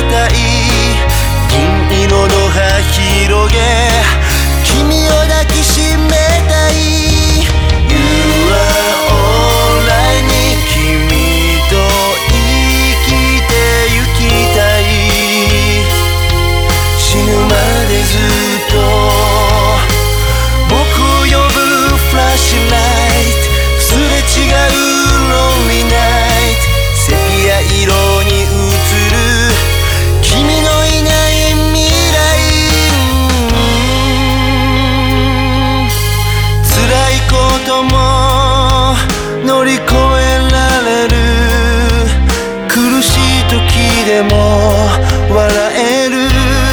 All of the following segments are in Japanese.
たい銀色の葉広げ君を抱きしめたい You are alright に君と生きてゆきたい死ぬまでずっと僕を呼ぶフラッシュライトすれ違う Lonely night セピア色に映る君のいない未来辛いことも乗り越えられる苦しい時でも笑える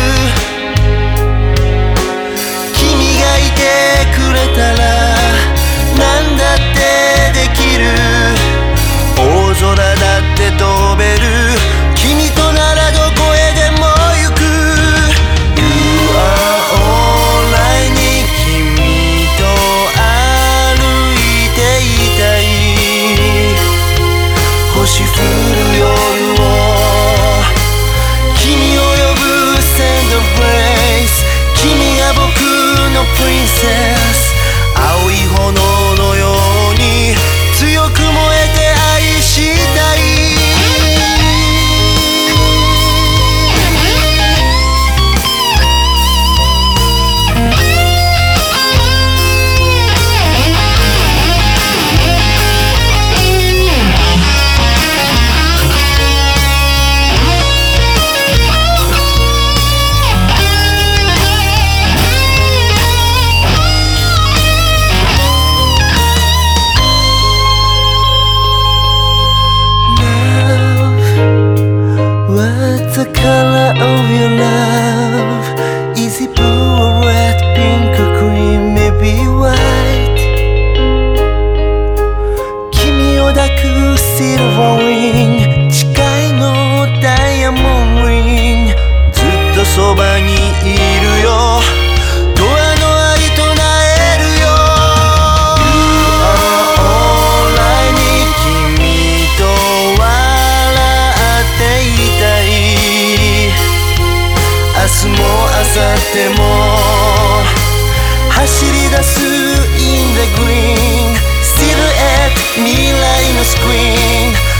君がいてくれたら何だってできる大空だって飛べる君とならどこへでも行く You are alright に君と歩いていたい星降る夜を君を呼ぶ Send a place 君が僕の Princess 青い炎のように強く燃えて愛したいWhat's the color of your love? Is it blue or red, pink or green, maybe white? 君を抱く Silver ring 誓いのダイヤモンドリングずっとそばにいるよドアの愛唱えるよ You are alright に君と笑っていたい明日も明後日も走り出す In the green Silhouette 未来のスクリーン